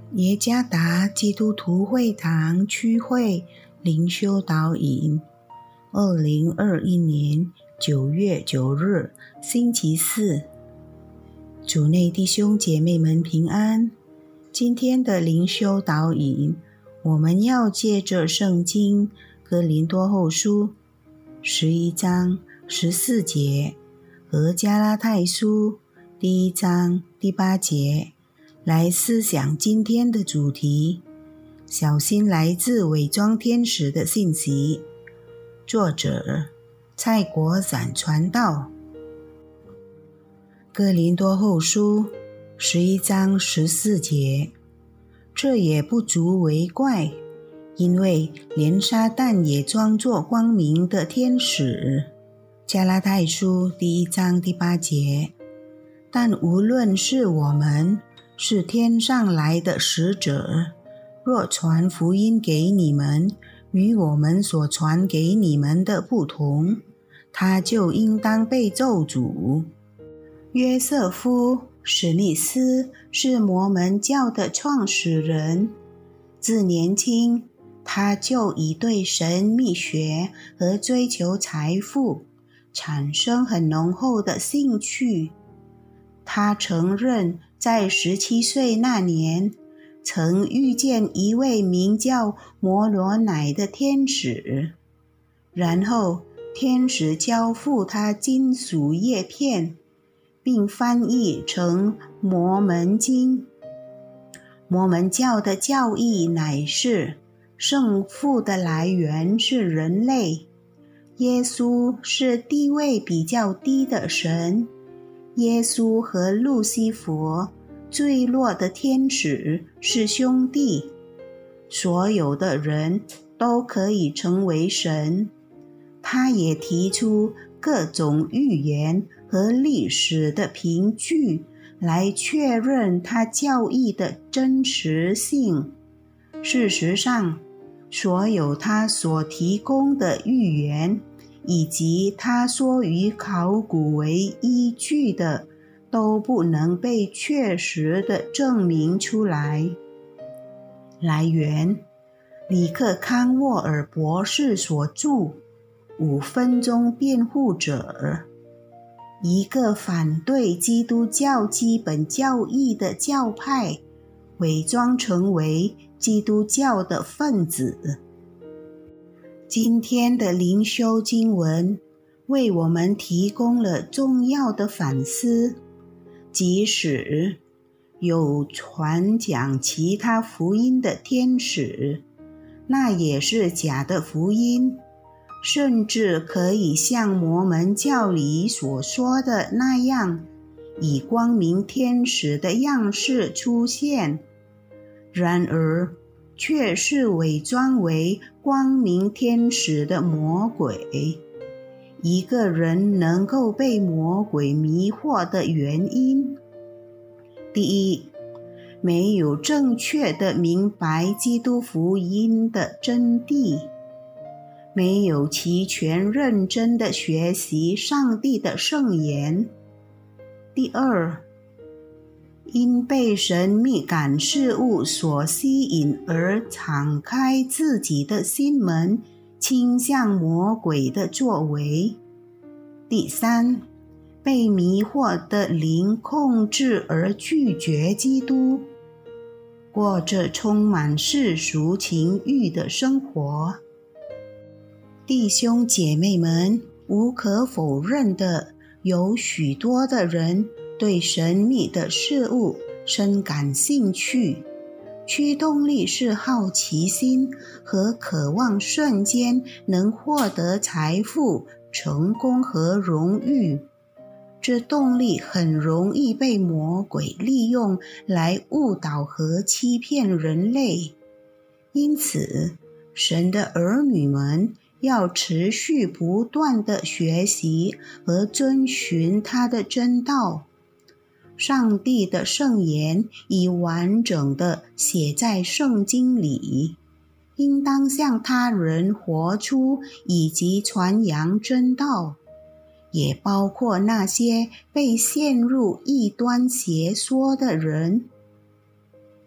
耶加达基督徒会堂区会灵修导引，2021年9月9日，星期四。主内弟兄姐妹们平安。今天的灵修导引，我们要借着圣经哥林多后书11章14节和加拉太书1章第8节来思想今天的主题，小心来自伪装天使的信息。作者蔡国展传道。哥林多后书11章14节，这也不足为怪，因为连撒旦也装作光明的天使。加拉太书1章第8节，但无论是我们是天上来的使者，若传福音给你们，与我们所传给你们的不同，他就应当被咒诅。约瑟夫·史密斯是摩门教的创始人，自年轻他就已对神秘学和追求财富产生很浓厚的兴趣。他承认在17岁那年曾遇见一位名叫摩罗乃的天使，然后天使交付他金属叶片，并翻译成摩门经。摩门教的教义乃是圣父的来源是人类，耶稣是地位比较低的神，耶稣和路西弗坠落的天使是兄弟，所有的人都可以成为神。他也提出各种预言和历史的凭据来确认他教义的真实性。事实上，所有他所提供的预言以及他说与考古为依据的都不能被确实地证明出来。来源：里克康沃尔博士所著5分钟辩护者，一个反对基督教基本教义的教派伪装成为基督教的分子。今天的灵修经文为我们提供了重要的反思，即使有传讲其他福音的天使，那也是假的福音，甚至可以像摩门教里所说的那样，以光明天使的样式出现，然而却是伪装为光明天使的魔鬼。一个人能够被魔鬼迷惑的原因：第一，没有正确地明白基督福音的真谛，没有齐全认真地学习上帝的圣言。第二，因被神秘感事物所吸引而敞开自己的心门，倾向魔鬼的作为。第三，被迷惑的灵控制而拒绝基督，过着充满世俗情欲的生活。弟兄姐妹们，无可否认的，有许多的人对神秘的事物深感兴趣，驱动力是好奇心和渴望瞬间能获得财富、成功和荣誉。这动力很容易被魔鬼利用来误导和欺骗人类。因此，神的儿女们要持续不断地学习和遵循他的真道。上帝的圣言已完整地写在圣经里，应当向他人活出以及传扬真道，也包括那些被陷入异端邪说的人。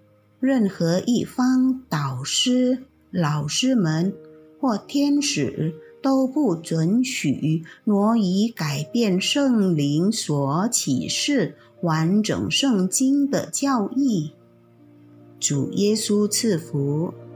任何一方导师、老师们或天使都不准许挪移改变圣灵所启示完整圣经的教义。主耶稣赐福。